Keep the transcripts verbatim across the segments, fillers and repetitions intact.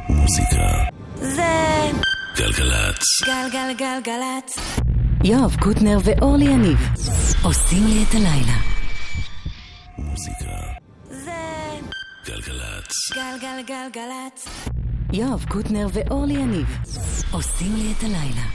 מוזיקה זה גלגלצ. גלגלגלגלצ. יואב קוטנר ואורלי יניב עושים לי את הלילה. מוזיקה זה גלגלצ. גלגלגלגלצ. יואב קוטנר ואורלי יניב עושים לי את הלילה.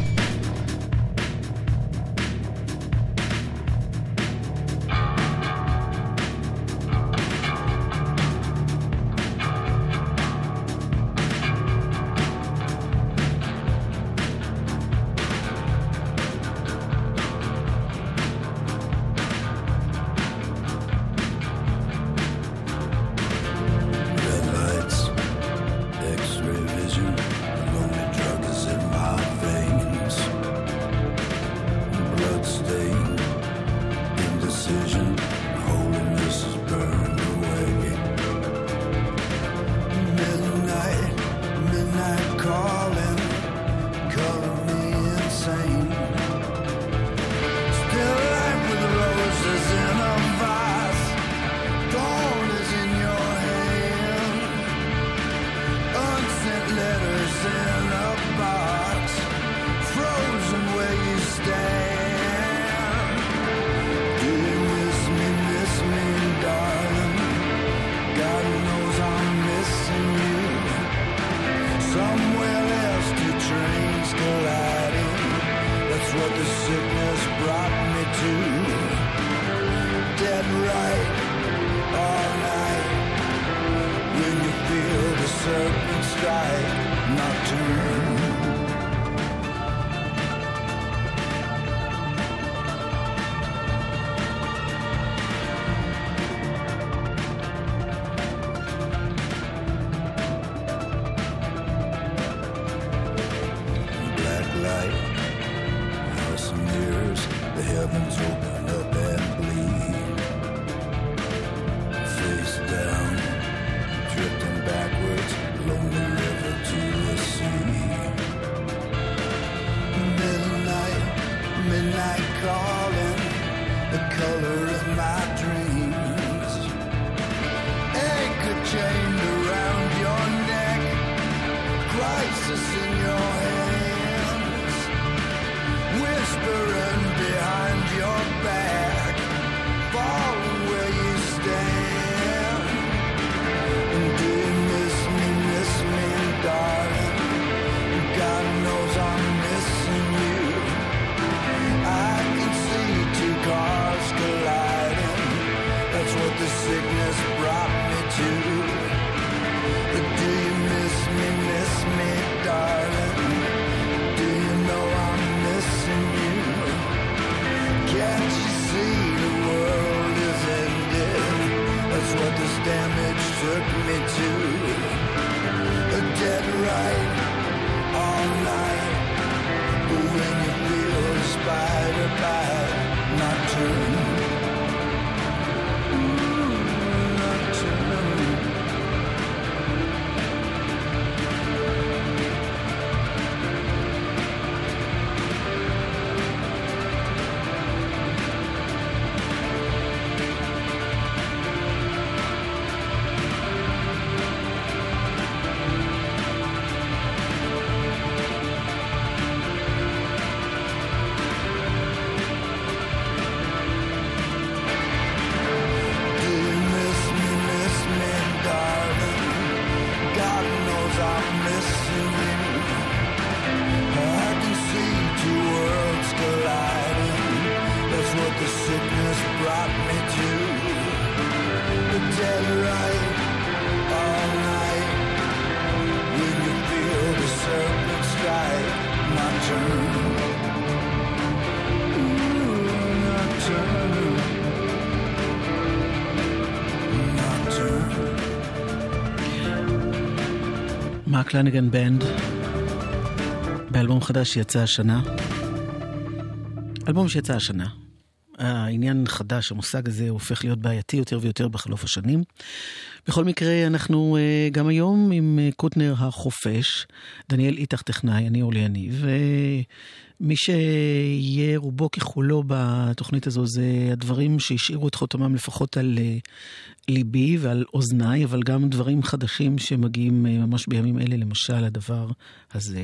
מרק לניגן בנד באלבום חדש שיצא השנה, אלבום שיצא השנה, העניין חדש, המושג הזה הופך להיות בעייתי יותר ויותר בחלוף השנים. בכל מקרה, אנחנו גם היום עם קוטנר החופש, דניאל איתך טכנאי, אני אורלי יניב, ומי שיהיה רובו ככולו בתוכנית הזו, זה הדברים שהשאירו את חותמם לפחות על ליבי ועל אוזניי, אבל גם דברים חדשים שמגיעים ממש בימים אלה, למשל הדבר הזה.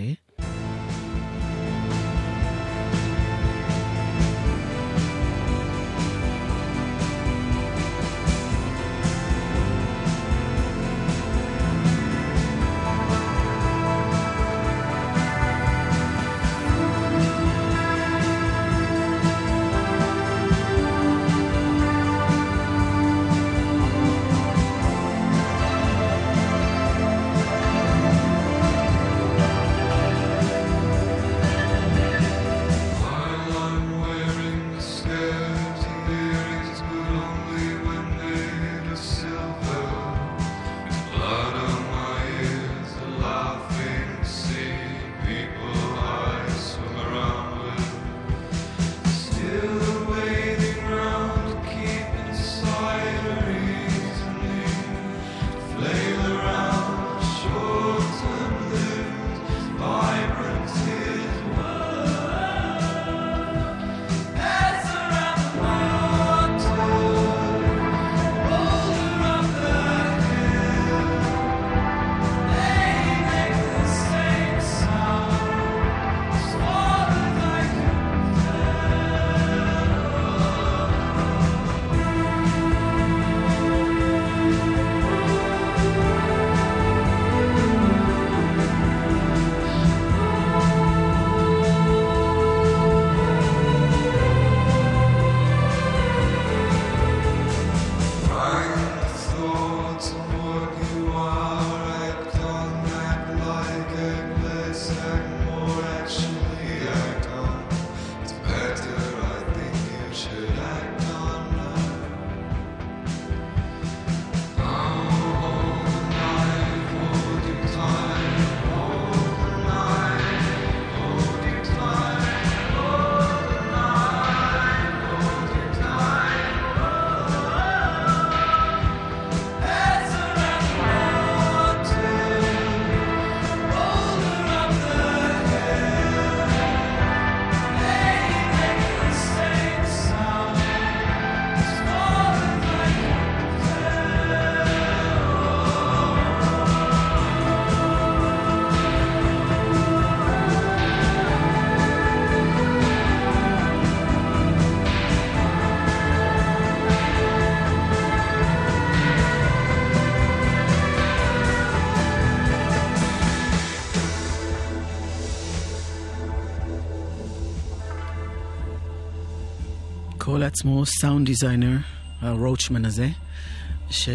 קורא לעצמו סאונד דיזיינר, הרוצ'מן הזה, ש...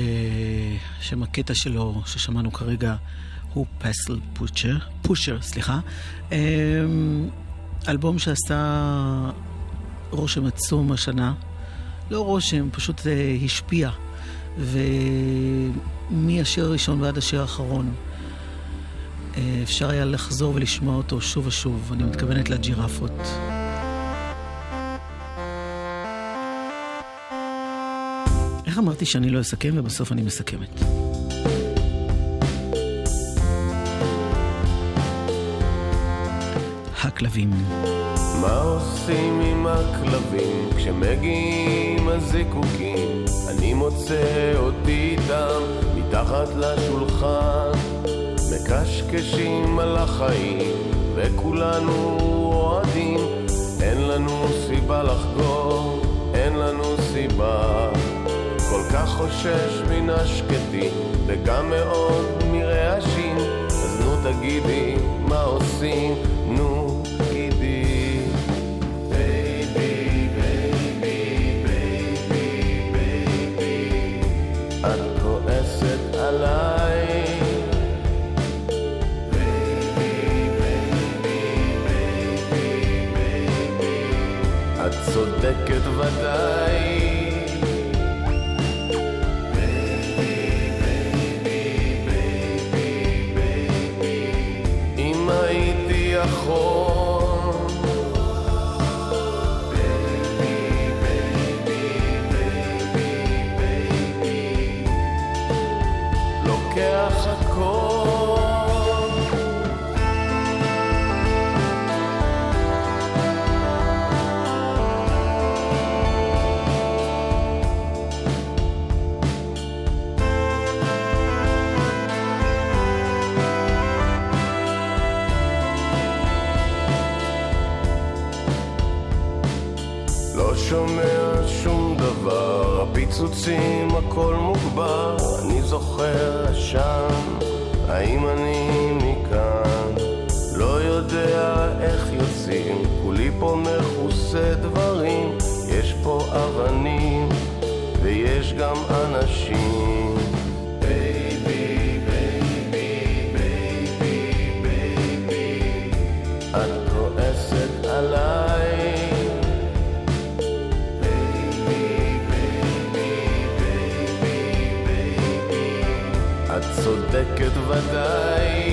שמקטע שלו ששמענו כרגע הוא פסל פושר, פושר, סליחה. אלבום שעשה רושם עצום השנה, לא רושם, פשוט השפיע, ומהשיר הראשון ועד השיר האחרון אפשר היה לחזור ולשמוע אותו שוב ושוב. אני מתכוונת לג'ירפות. איך אמרתי שאני לא אסכם ובסוף אני מסכמת? הכלבים. מה עושים עם הכלבים כשמגיעים הזיקוקים? אני מוצא אותי איתם מתחת לשולחן, מקשקשים על החיים וכולנו אוהדים. אין לנו סיבה לחגור, אין לנו סיבה. כל כך חושש מן השקטים וגם מאוד מרעשים, אז נו תגידי מה עושים, נו גידי. בייבי, בייבי, בייבי, בייבי, את כועסת עליי. בייבי, בייבי, בייבי, בייבי, את צודקת ודאי. יכול בייבי, בייבי, שומע שום דבר, הפיצוצים הכל מוגבר, אני זוכר עשן, האם אני מכאן? לא יודע איך יוצאים, כולי פה מכוסה דברים, יש פה אבנים ויש גם אנשים. בייבי, בייבי, בייבי, בייבי, את כועסת עליי. בייבי, בייבי, בייבי, בייבי, את צודקת ודאי.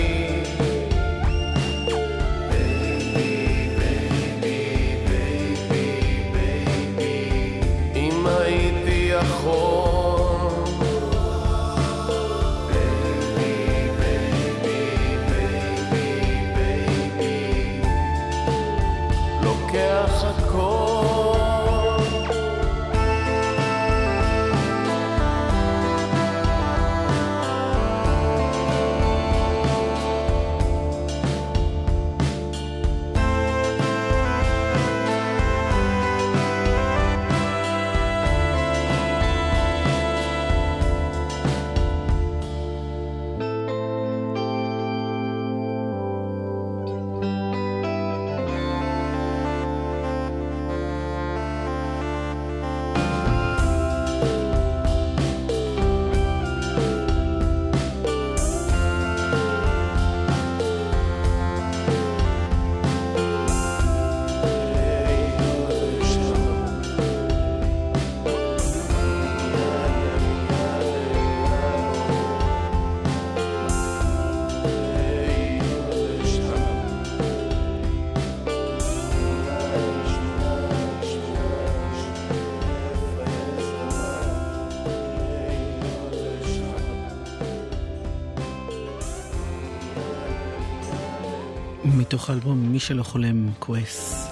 מתוך האלבום מי שלא חולם כועס.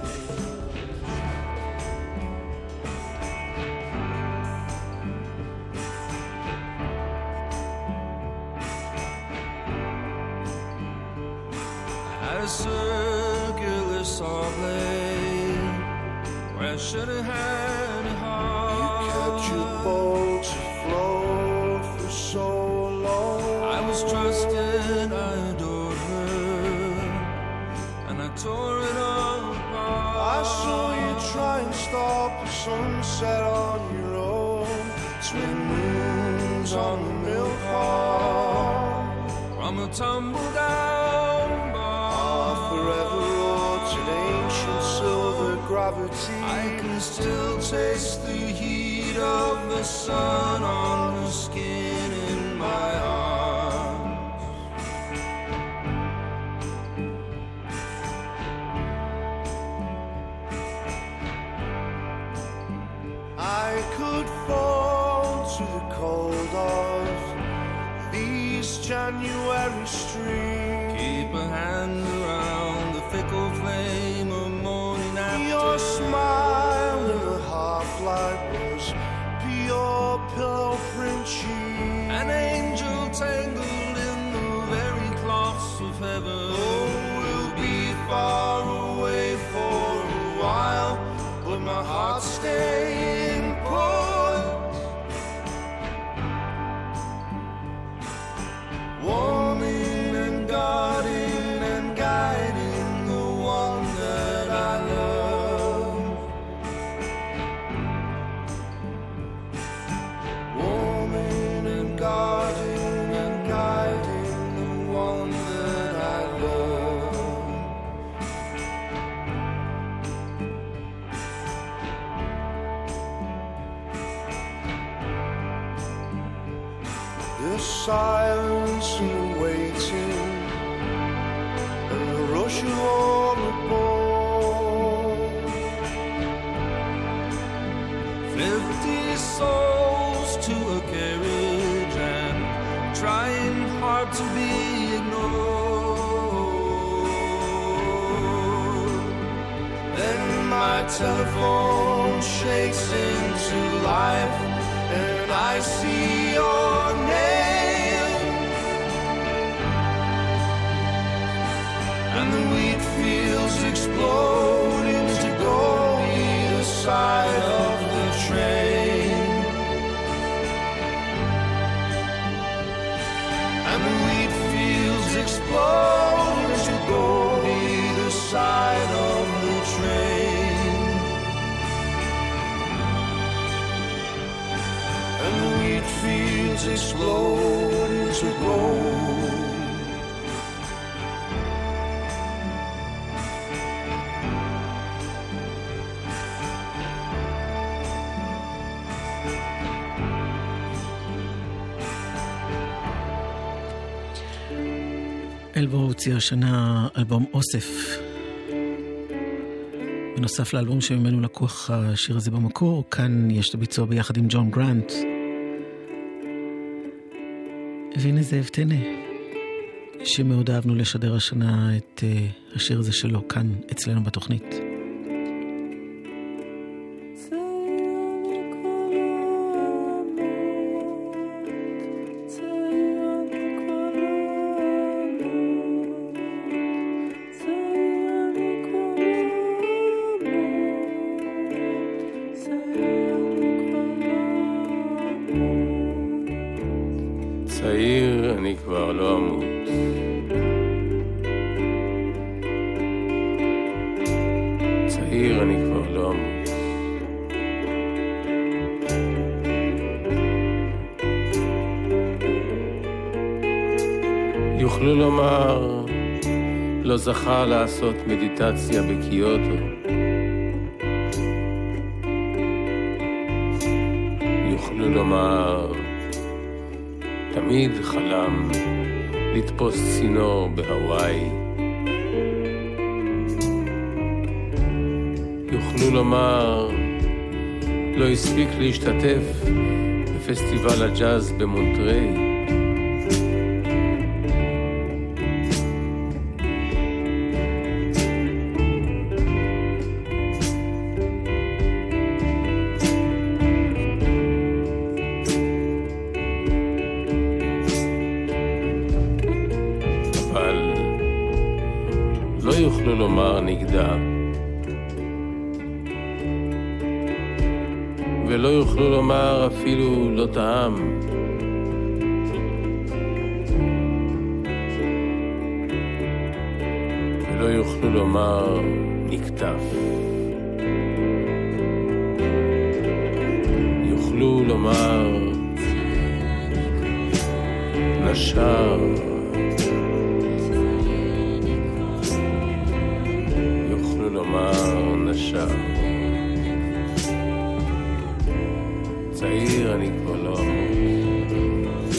Silence and the waiting and the rush of all the boat. Fifty souls to a carriage and trying hard to be ignored. Then my telephone shakes into life and I see your name. And the wheat fields explode into gold either side. אלבו הוציא השנה אלבום אוסף. בנוסף לאלבום שממנו לקוח השיר הזה במקור, כאן יש את הביצוע ביחד עם ג'ון גרנט. והנה זאב טנא, שמאוד אהבנו לשדר השנה את uh, השיר הזה שלו כאן אצלנו בתוכנית. צעיר אני כבר לא אמות, צעיר אני כבר לא אמות, יוכלו לומר לא זכה לעשות מדיטציה בקיוטו, יוכלו לומר תמיד חלם לתפוס צינור בהוואי, יוכלו לומר לא הספיק להשתתף בפסטיבל הג'אז במונטריי, יוכלו לומר נגדה, ולא יוכלו לומר אפילו לא טעם, ולא יוכלו לומר נקטף, יוכלו לומר נשר, לומר נשר. צעיר אני כבר לא אמות,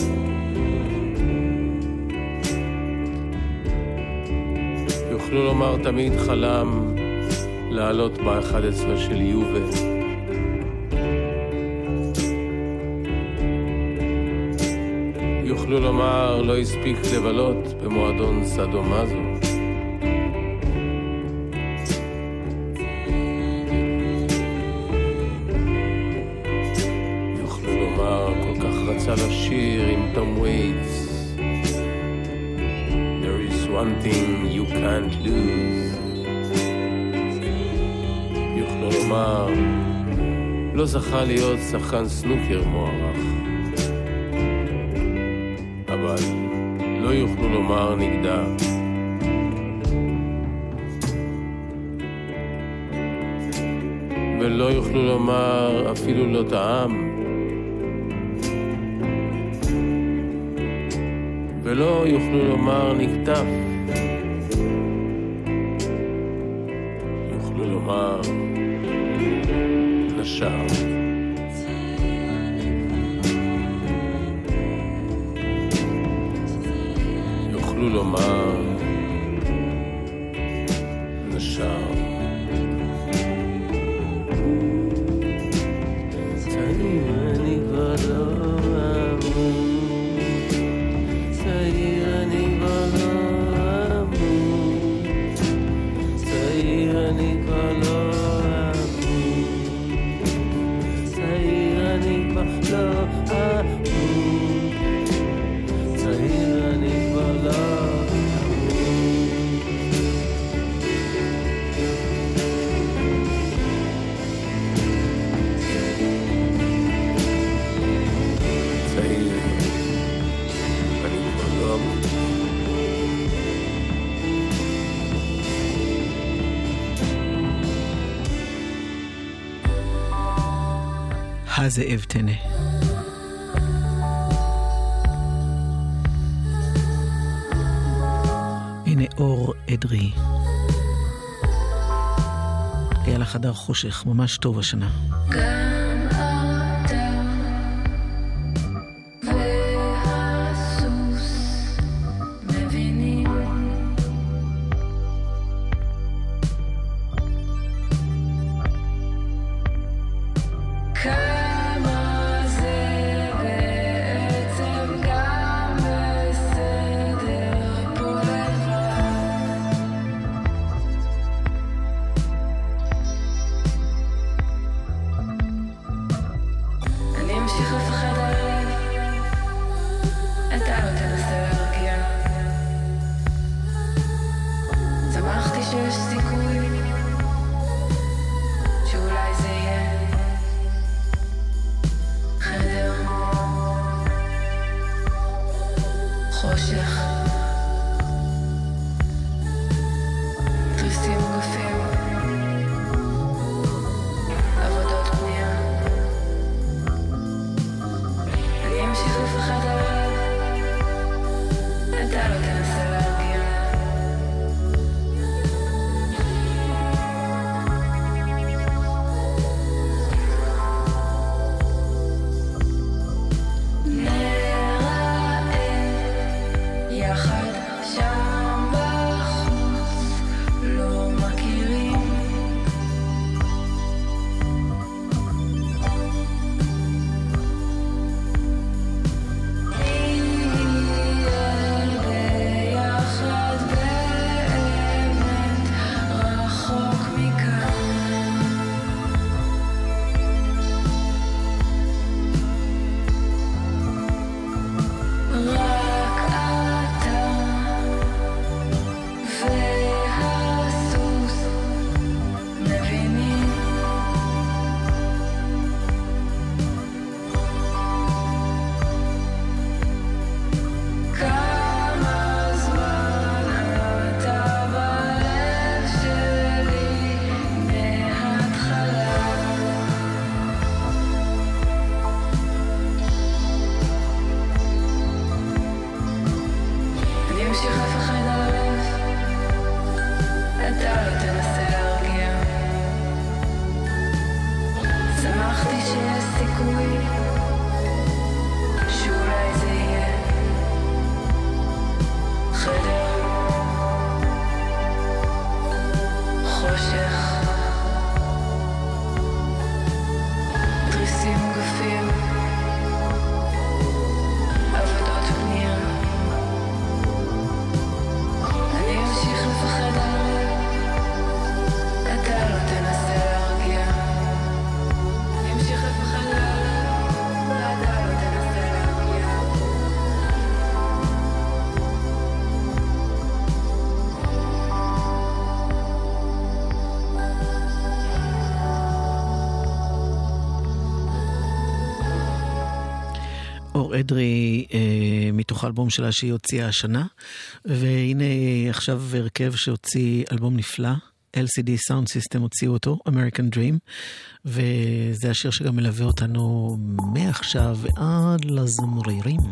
יוכלו לומר תמיד חלם לעלות ב-אחד עשר של יובל, יוכלו לומר לא הספיק לבלות במועדון סדומזו, לשיר עם תום וייטס, There is one thing you can't lose, יוכלו לומר לא זכה להיות שחקן סנוקר מוערך, אבל לא יוכלו לומר נגדה, ולא יוכלו לומר אפילו לא טעם, ולא יוכלו לומר נקטף, יוכלו לומר נשר. יוכלו לומר נשר. זאב טנא. הנה אור אדרי. היה לה חדר חושך ממש טוב השנה. גם אתה והסוס מבינים לינור אדרי אה, מתוך האלבום שלה שהיא הוציאה השנה, והנה עכשיו הרכב שהוציא אלבום נפלא, אל סי די Sound System הוציאו אותו, American Dream, וזה השיר שגם מלווה אותנו מעכשיו ועד לזמרירים.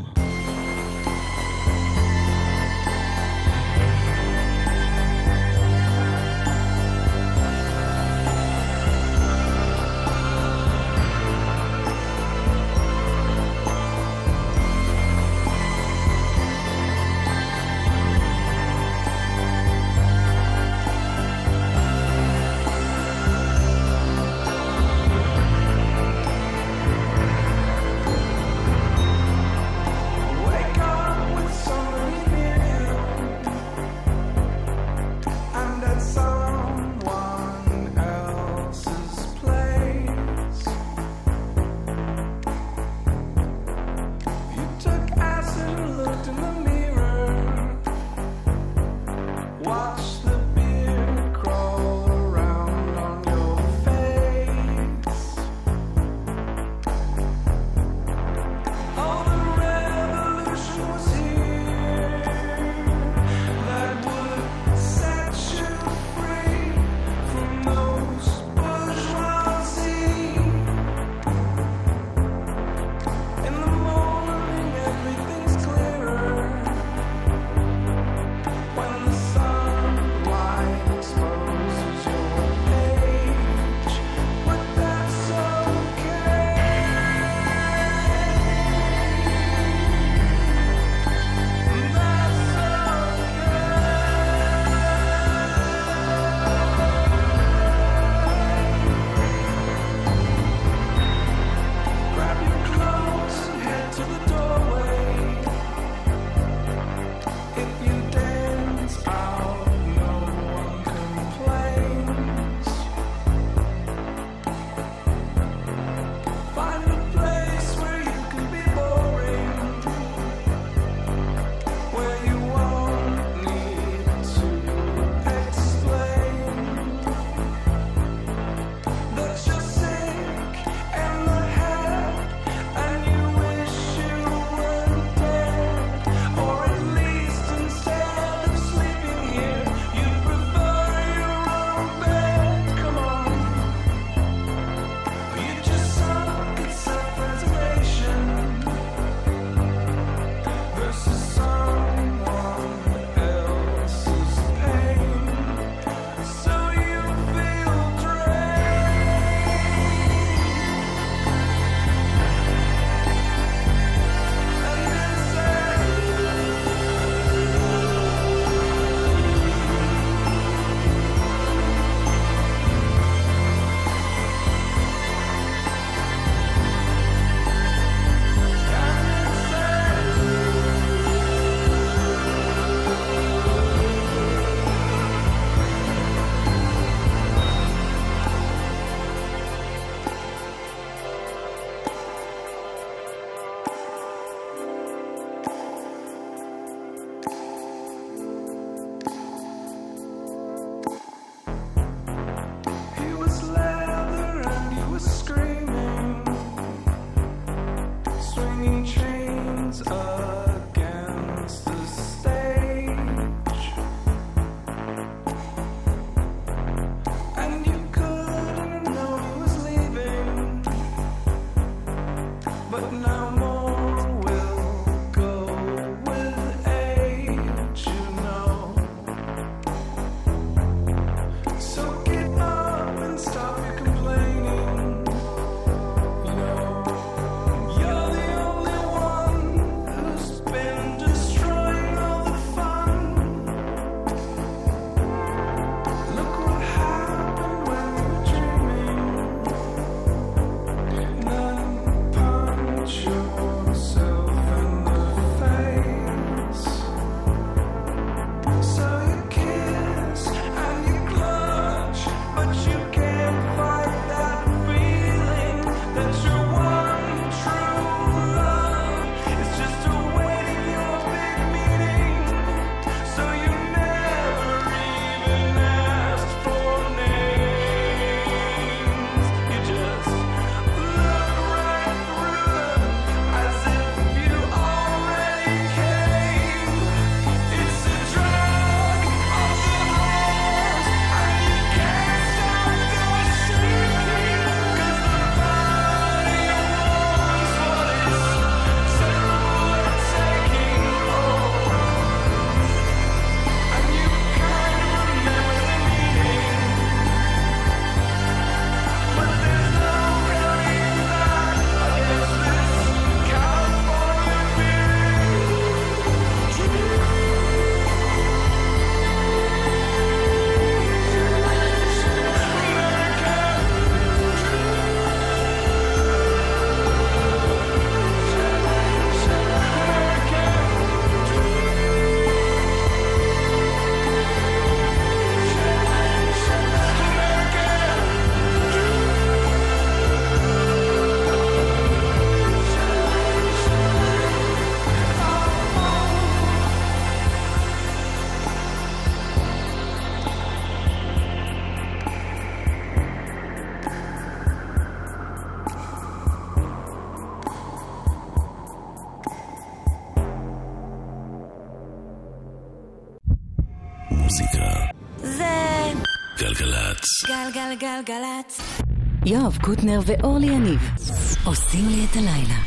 מוזיקה. זה גלגלצ. גלגלגלגלצ. יואב קוטנר ואורלי יניב עושים לי את הלילה.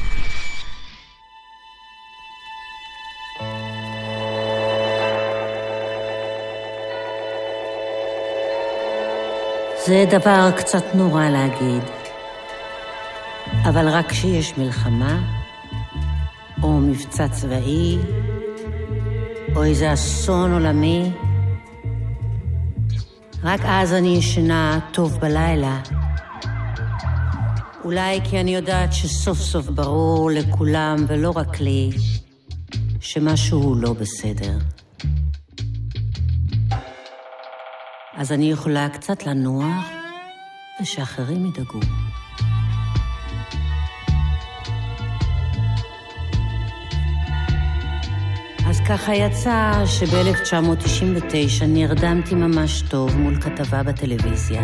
זה דבר קצת נורא להגיד, אבל רק כשיש מלחמה, או מבצע צבאי, או איזה אסון עולמי, רק אז אני ישנה טוב בלילה. אולי כי אני יודעת שסוף סוף ברור לכולם ולא רק לי, שמשהו לא בסדר. אז אני יכולה קצת לנוח, ושאחרים ידאגו. אז ככה יצא שב-אלף תשע מאות תשעים ותשע נרדמתי ממש טוב מול כתבה בטלוויזיה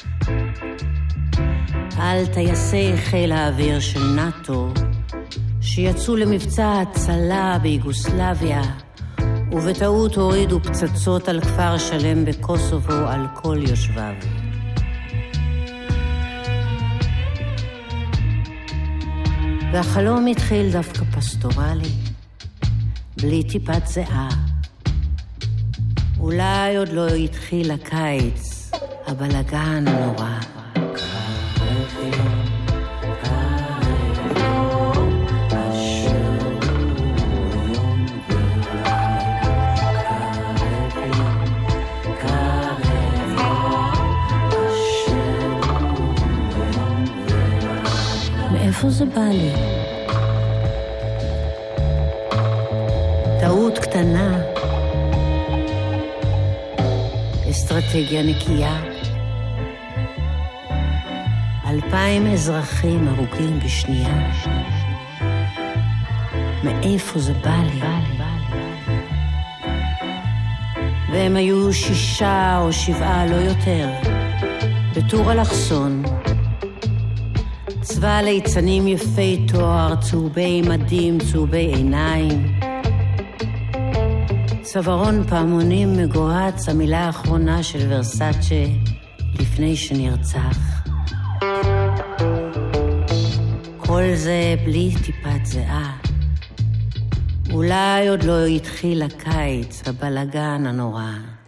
על טייסי חיל האוויר של נאטו שיצאו למבצע הצלה ביוגוסלביה ובטעות הורידו פצצות על כפר שלם בקוסובו על כל יושביו. והחלום התחיל דווקא פסטורלי, בלי טיפת זהה. אולי עוד לא התחיל הקיץ, הבלגן נורא. מאיפה זה בא לי? טעות קטנה, אסטרטגיה נקייה, אלפיים אזרחים הרוגים בשנייה. מאיפה זה בא לי? והם היו שישה או שבעה, לא יותר, בטור אלכסון, צבא ליצנים יפי תואר, צהובי מדים, צהובי עיניים, צווארון פעמונים מגוהץ, המילה האחרונה של ורסאצ'ה לפני שנרצח. כל זה בלי טיפת זהה. אולי עוד לא התחיל הקיץ, הבלגן הנורא.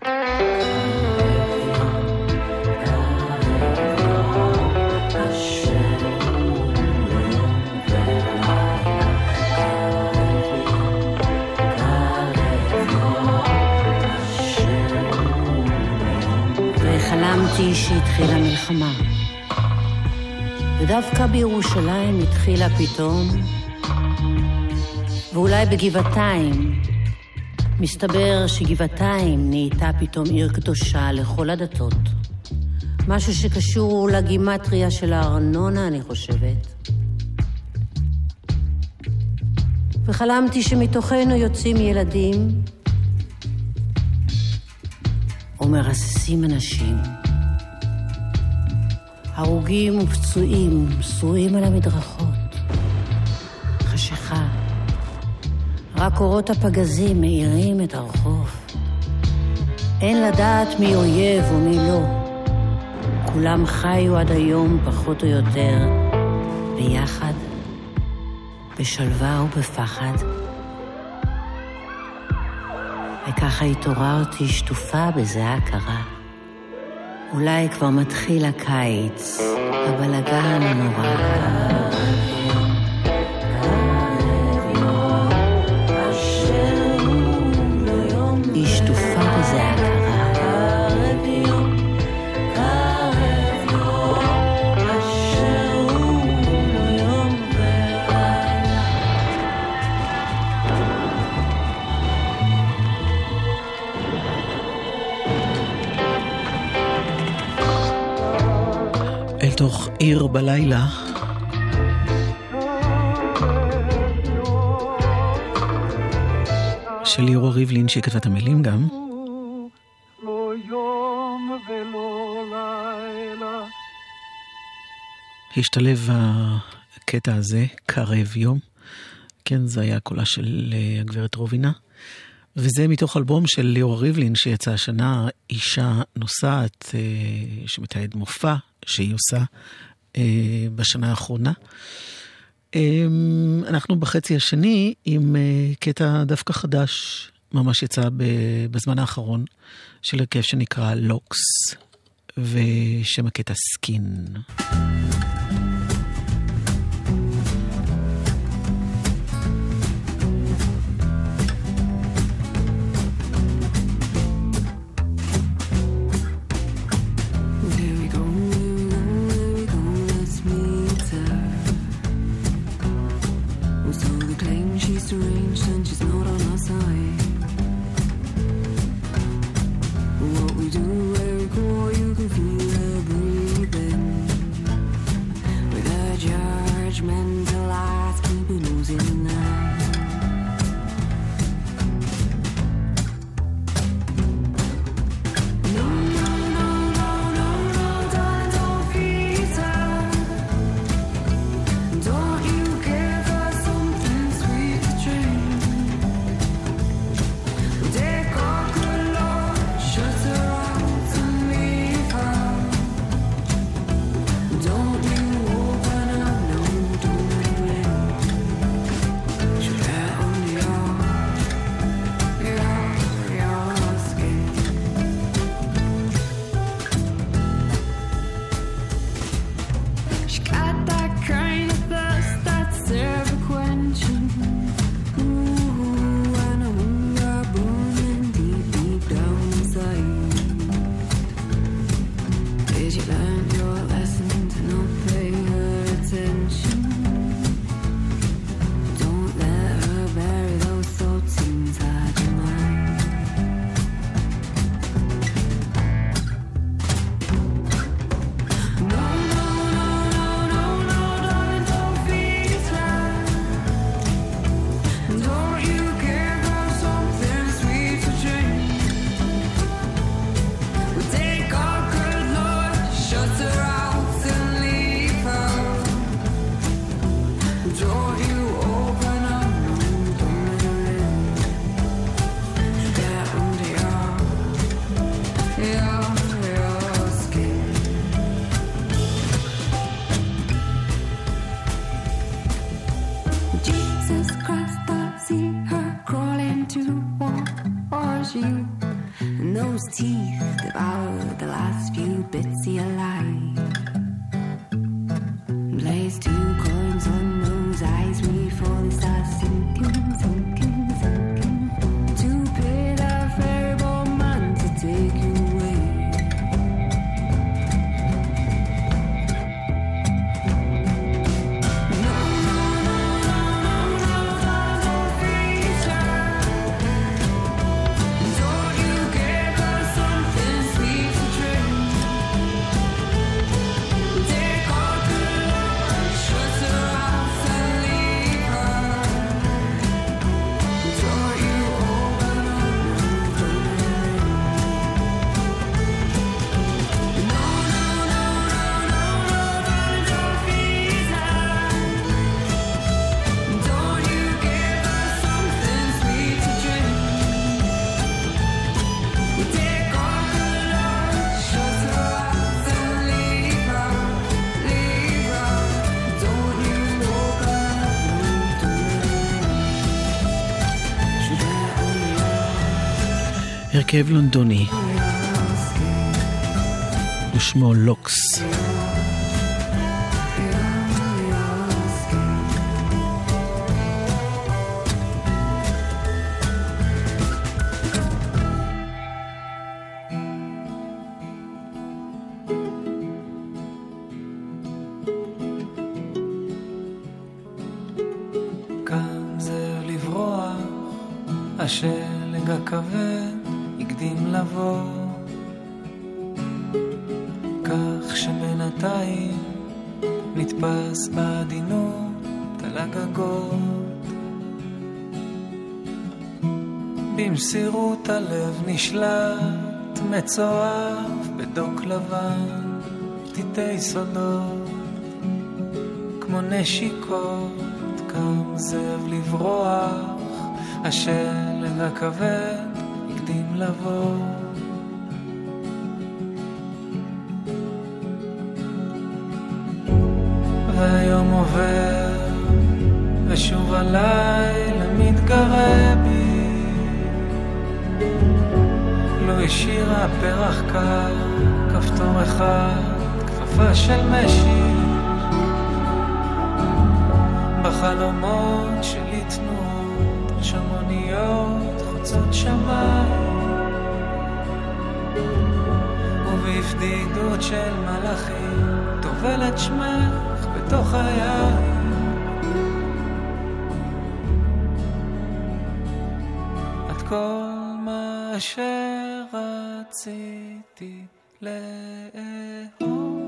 חלמתי שהתחילה מלחמה, ודווקא בירושלים התחילה פתאום, ואולי בגבעתיים. מסתבר שגבעתיים נהייתה פתאום עיר קדושה לכל הדתות. משהו שקשור לגימטריה של הארנונה, אני חושבת. וחלמתי שמתוכנו יוצאים ילדים ומרססים אנשים, הרוגים ופצועים, שרועים על המדרכות, חשיכה, רק אורות הפגזים מאירים את הרחוב. אין לדעת מי אויב ומי לא, כולם חיו עד היום פחות או יותר ביחד, בשלווה ובפחד. וככה התעוררתי שטופה בזיעה קרה. אולי כבר מתחיל הקיץ, הבלגן הנורא. היא שטופה בזיעה קרה. תוך עיר בלילה, של ליאורה ריבלין שכתבה את המילים גם. לא יום ולא לילה. השתלב הקטע הזה, קרב יום. כן, זה היה קולה של הגברת רובינה. וזה מתוך אלבום של ליאורה ריבלין שיצא השנה, אישה נוסעת, שמתעד מופע שהיא עושה בשנה האחרונה. אנחנו בחצי השני עם קטע דווקא חדש, ממש יצא בזמן האחרון, של הרכב שנקרא לוקס, ושם הקטע סקין. Arranged and she's not on our side. What we do, where we go, you can feel her breathing. With her judgmental eyes, keep it losing now. No, no, no, no, no, no, darling, don't feed her. Don't you give her something sweet to drink. Take off her love, shut her out and leave her. Don't you open up, no, don't let her in. She'll get under your, your, your skin. She got that kind of thirst that's ever quenching. Ooh, and a hunger burning deep, deep down inside. Did you learn your lesson to not pay her attention? Don't let her bury those thoughts inside your mind. No, no, no, no, no, no, darling, don't feed her. Don't you give her something sweet to drink. We take our good Lord, shut her out and leave her. Don't you open up, no, don't let her in. She'll get under your, your, your skin. Jesus Christ, I see her crawling towards you. And those teeth devour the last few bits of your life. Place two coins on those eyes before they start sinking, sinking, sinking. To pay that variable man to take you away. No, no, no, no, no, no, don't feed her. Don't you give her something sweet to drink. Take all good Lord, shut her out and leave her. Don't you open up, no, don't let her in. No, no, no, no, no, no, darling, don't feed her. Don't you give her something sweet to drink. Take all good Lord, shut her out and leave her, leave her. Don't you open up, no, don't let her in. She'll get under your, הרכב לונדוני, your skin. ושמו לוקס. Your, your skin. כאן זה לברוח, השלג הכבד הקדים לבוא, כך שבינתיים נתפס בעדינות על הגגות. במסירות הלב נשלט מצואף בדוק לבן, פתיתי סודות כמו נשיקות, קם זאב לברוח השלג הכבד הקדים לבוא. והיום עובר ושוב הלילה מתגרה בי. לא השאירה פרח קר, כפתור אחד, כפפה של משי. בחלומות שלי תנועות שמוניות חוצות שמיים, ובהפדידות של מלאכים טובלת שמך בתוך היין. את כל מה שרציתי לאהוב.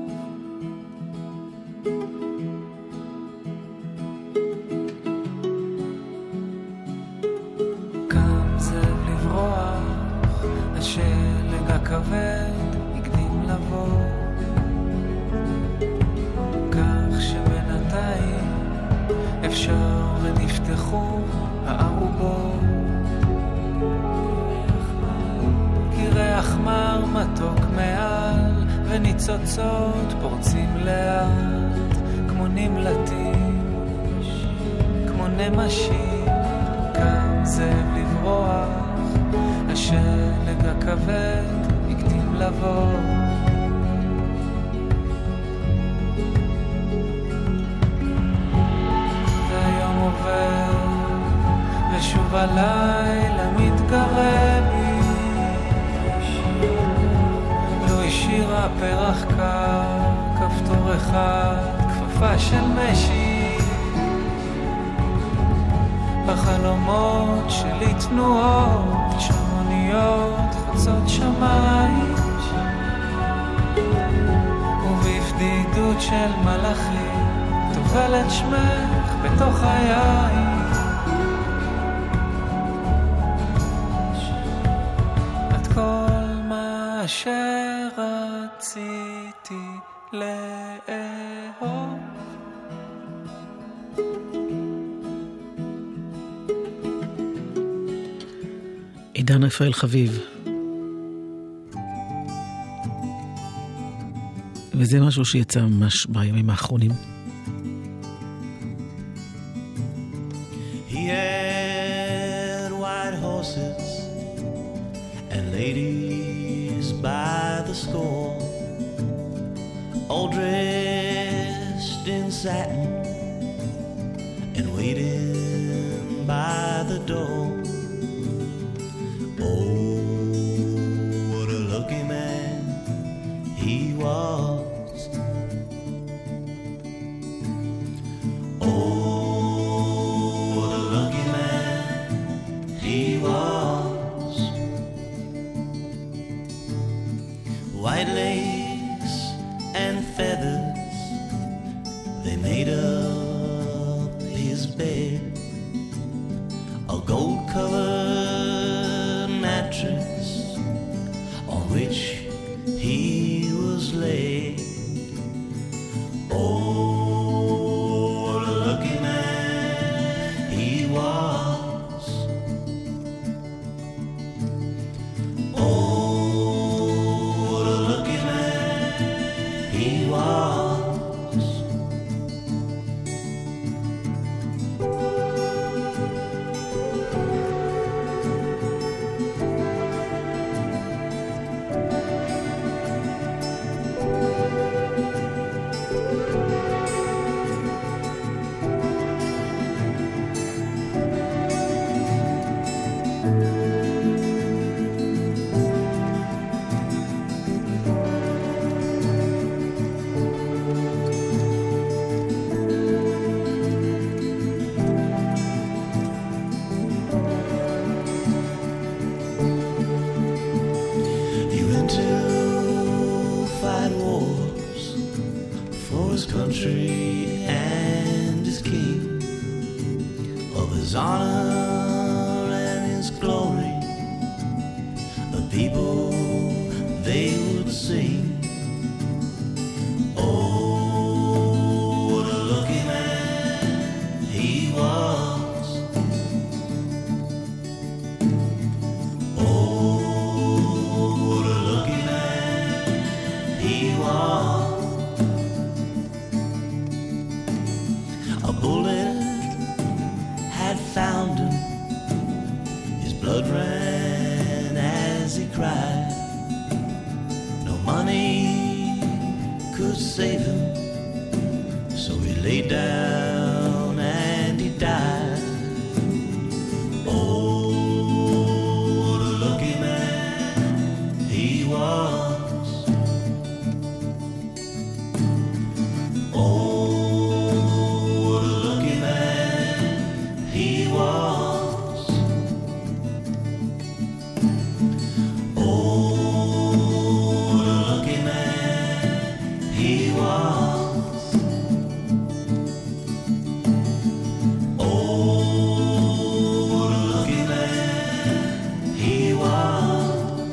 השלג הכבד הקדים לבוא, כך שבינתיים אפשר ונפתחו הערובות. כי ריח מר מתוק מעל וניצוצות פורצים לאט, כמו נמלטים, כמו נמשים. כאן זאב לברוח, השלג הכבד הקדים לבוא. והיום עובר ושוב הלילה מתגרה בי. לא השאירה פרח קר, כפתור אחד, כפפה של משי. בחלומות שלי תנועות שמוניות חוצות שמיים, ובהפדידות של מלאכים טובלת שמך בתוך היין. את כל מה שרציתי לאהוב. עידן רפאל חביב. וזה משהו שיצא ממש בימים האחרונים. He had white horses and ladies by the score, all dressed in satin and waiting by the door. Was. Oh, what a lucky man he was. White lace and feathers, they made up his bed. A gold-covered mattress on which he was laid. Oh, what a lucky man he was. Oh, what a lucky man he was. down and he died. Oh, what a lucky man he was. Oh, what a lucky man he was. Oh, what a lucky man he was. Oh, what a lucky man he was.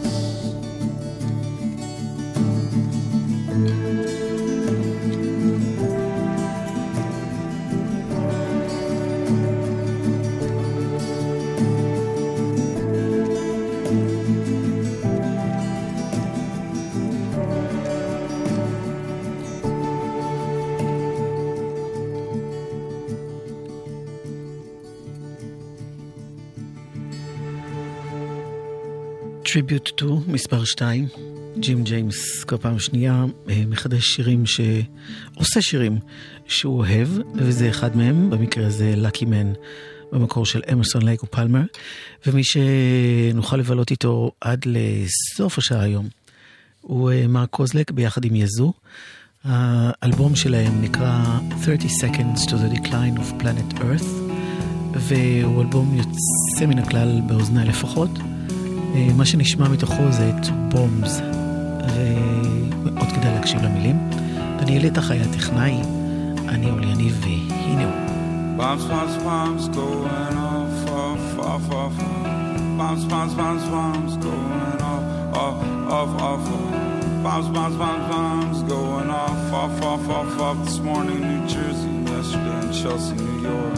Tribute to, מספר שתיים, ג'ים ג'יימס, כל פעם שנייה מחדש שירים שעושה שירים שהוא אוהב, וזה אחד מהם, במקרה הזה Lucky Man, במקור של אמרסון לייק ופלמר, ומי שנוכל לבלות איתו עד לסוף השעה היום, הוא מרק קוזלק ביחד עם יזו. האלבום שלהם נקרא thirty seconds to the decline of planet earth, והוא אלבום יוצא מן הכלל באוזני לפחות. מה שנשמע מתוכו זה את בומס, ומאוד כדאי להקשיב למילים. דניאל איתך היה טכנאי, אני אולי יניב, והנה הוא. Bombs, bombs, bombs going off, off, off, off. Bombs, bombs, bombs, bombs going off, off, off, off. Bombs, bombs, bombs, bombs going off, off, off, off, off. This morning in New Jersey, yesterday in Chelsea, New York.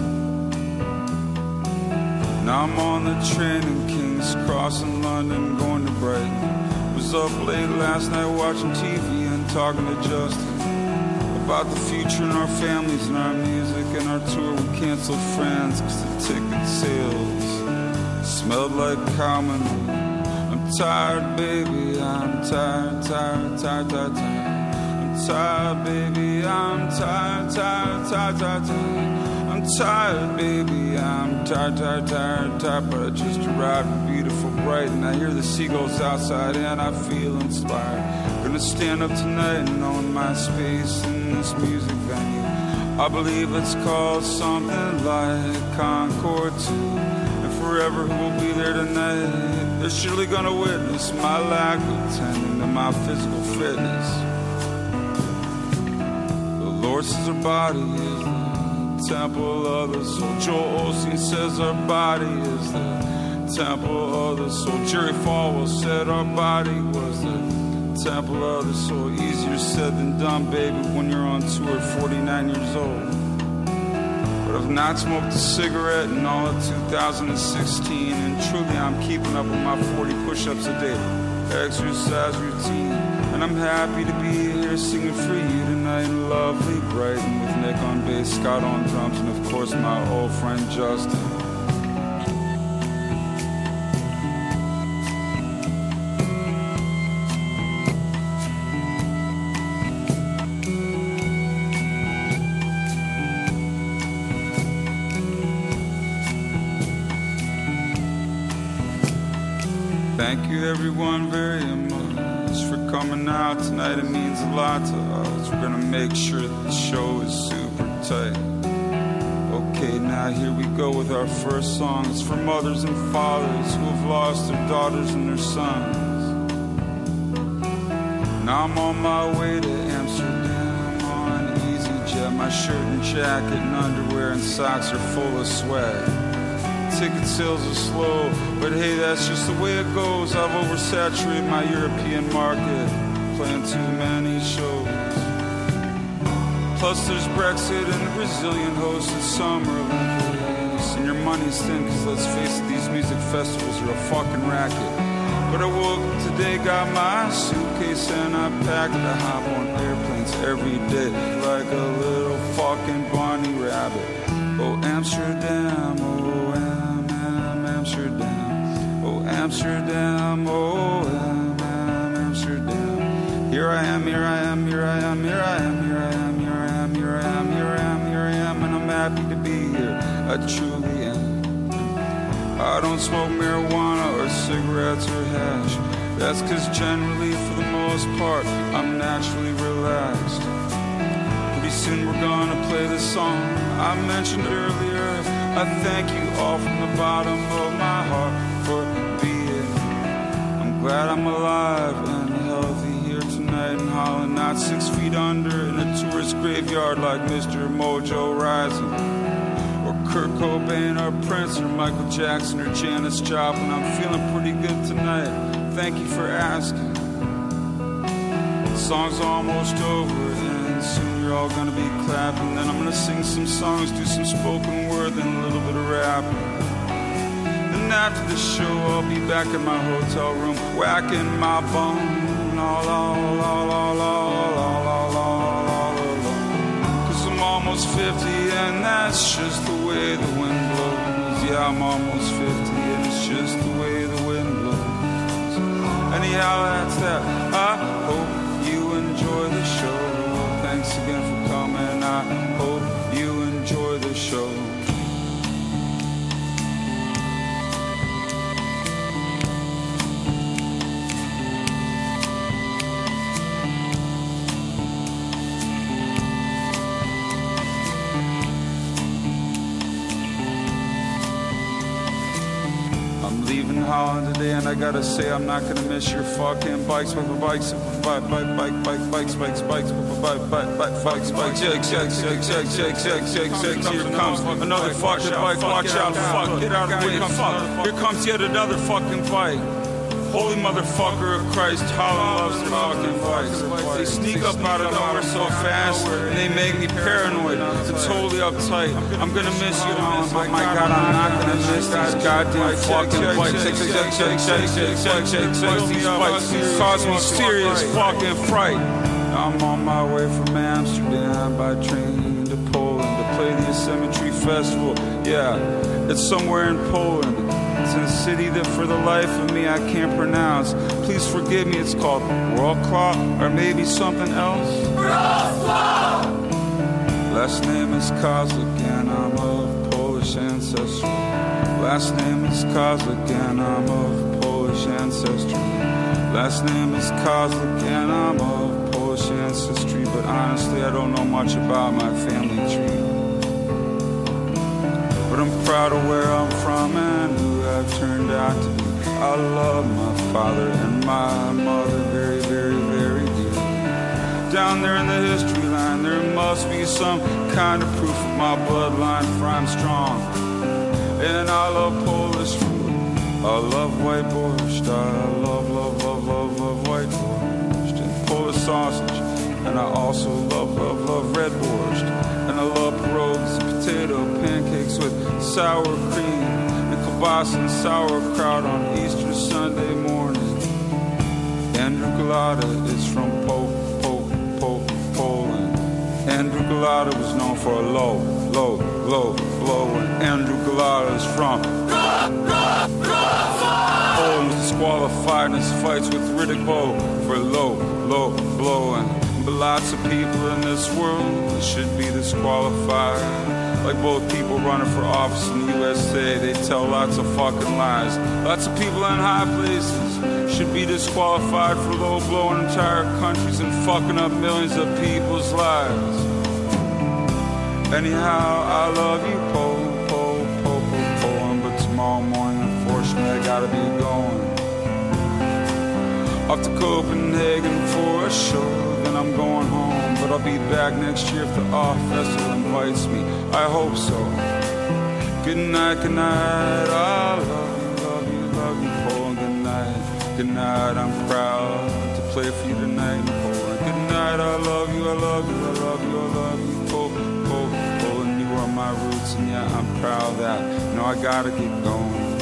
Now I'm on the train in King's Cross in London, going to Brighton. Was up late last night watching T V and talking to Justin about the future and our families and our music and our tour. We canceled France cause the ticket sales smelled like common. I'm tired, baby, I'm tired, tired, tired, tired, tired. I'm tired, baby, I'm tired, tired, tired, tired, tired. I'm tired, baby, I'm tired, tired, tired, tired. But I just arrived in beautiful Brighton. I hear the seagulls outside and I feel inspired. Gonna stand up tonight and own my space in this music venue. I believe it's called something like Concord two. And forever who will be there tonight, they're surely gonna witness my lack of tending to my physical fitness. The Lord says our body is the temple of the soul. Joel Osteen says our body is the temple of the soul. Jerry Falwell said our body was the temple of the soul. Easier said than done, baby, when you're on tour at forty-nine years old. But I've not smoked a cigarette in all of two thousand sixteen, and truly I'm keeping up with my forty push-ups a day exercise routine. And I'm happy to be here singing for you tonight in lovely Brighton with Nick on bass, Scott on drums, and of course my old friend Justin. Thank you everyone very much for coming out tonight. It means a lot to us. We're gonna make sure that the show is super tight. Okay, now here we go with our first song. It's for mothers and fathers who have lost their daughters and their sons. Now I'm on my way to Amsterdam on EasyJet. My shirt and jacket and underwear and socks are full of sweat. Ticket sales are slow, but hey, that's just the way it goes. I've oversaturated my European market, playing too many shows. Plus there's Brexit and the Brazilian hosted Summer Olympics. And your money's thin, cause let's face it, these music festivals are a fucking racket. But I woke up today, got my suitcase and I packed to hop on airplanes every day like a little fucking bunny rabbit. Oh, Amsterdam, oh, Am, Am, Amsterdam. Oh, Amsterdam, oh, Am, Am, Amsterdam. Here I am, here I am, here I am, here I am, here I am, here I am, here I am, here I am, here I I truly am. I don't smoke marijuana or cigarettes or hash. That's cause generally, for the most part, I'm naturally relaxed. Pretty soon we're gonna play the song I mentioned earlier. I thank you all from the bottom of my heart for being. I'm glad I'm alive and healthy here tonight in Holland, not six feet under in a tourist graveyard like Mister Mojo Rising, or Kurt Cobain or Prince or Michael Jackson or Janis Joplin. I'm feeling pretty good tonight. Thank you for asking. The song's almost over and soon you're all gonna be clapping. Then I'm gonna sing some songs, do some spoken word, then a little bit of rapping. Then after the show I'll be back in my hotel room, whacking my bone. La la la la la la la la la la. Cause I'm almost fifty and that's just the way the wind blows. Yeah, I'm almost fifty and it's just the way the wind blows. Anyhow, that's that. I hope you enjoy the show. Thanks again for coming. I hope you enjoy the show. Holland today, and I gotta say I'm not gonna miss your fucking bikes, bikes, bikes, bike, bike, bike, bike, bikes, bikes, bikes, bike, bike, bike, bikes, bikes, shake, shake, shake, shake, shake, shake, shake, shake. Here comes another fucking bike. Watch out, fuck, get out of the way, fuck. Here comes yet another fucking bike. Holy motherfucker of Christ, Holland loves their fucking bikes. They sneak up out of nowhere so fast, and they make me paranoid. They're totally uptight. I'm gonna miss you, Holland, but my God, I'm not gonna miss these goddamn fucking bikes. Shake, shake, shake, shake, shake, shake, shake, shake. These bikes cause me serious fucking fright. I'm on my way from Amsterdam by train to Poland to play the Asymmetry Festival. Yeah, it's somewhere in Poland. It's in a city that for the life of me I can't pronounce. Please forgive me, it's called Wrocław or maybe something else. Wrocław! Last name is Kozlik and I'm of Polish ancestry. Last name is Kozlik and I'm of Polish ancestry. Last name is Kozlik and I'm of Polish ancestry. But honestly I don't know much about my family tree. But I'm proud of where I'm from and who I've turned out to be. I love my father and my mother very, very, very dear. Down there in the history line, there must be some kind of proof of my bloodline, for I'm strong. And I love Polish food. I love white borscht. I love, love, love, love, love white borscht and Polish sausage. And I also love, love, love red borscht. And I love pierogies and potato pancakes with sour cream and kielbasa and sauerkraut on Easter Sunday morning. Andrew Galata is from po, po, po, Poland. Andrew Galata was known for a low, low, low blow. And Andrew Galata is from Poland, was disqualified in his fights with Riddick Bowe for low, low blowing. But lots of people in this world should be disqualified. Like both people running for office in the U S A, they tell lots of fucking lies. Lots of people in high places should be disqualified for low-blowing entire countries and fucking up millions of people's lives. Anyhow, I love you, po, po, po, po, po. But tomorrow morning, unfortunately, I gotta be going off to Copenhagen for a show. I'm going home, but I'll be back next year if the Off Festival invites me. I hope so. Good night, good night. I love you, love you, love you, Poland. Good night, good night. I'm proud to play for you tonight in Poland. Good night. I love you, I love you, I love you, I love you, Poland, Poland. You are my roots, and yeah, I'm proud of that. No, I gotta keep going.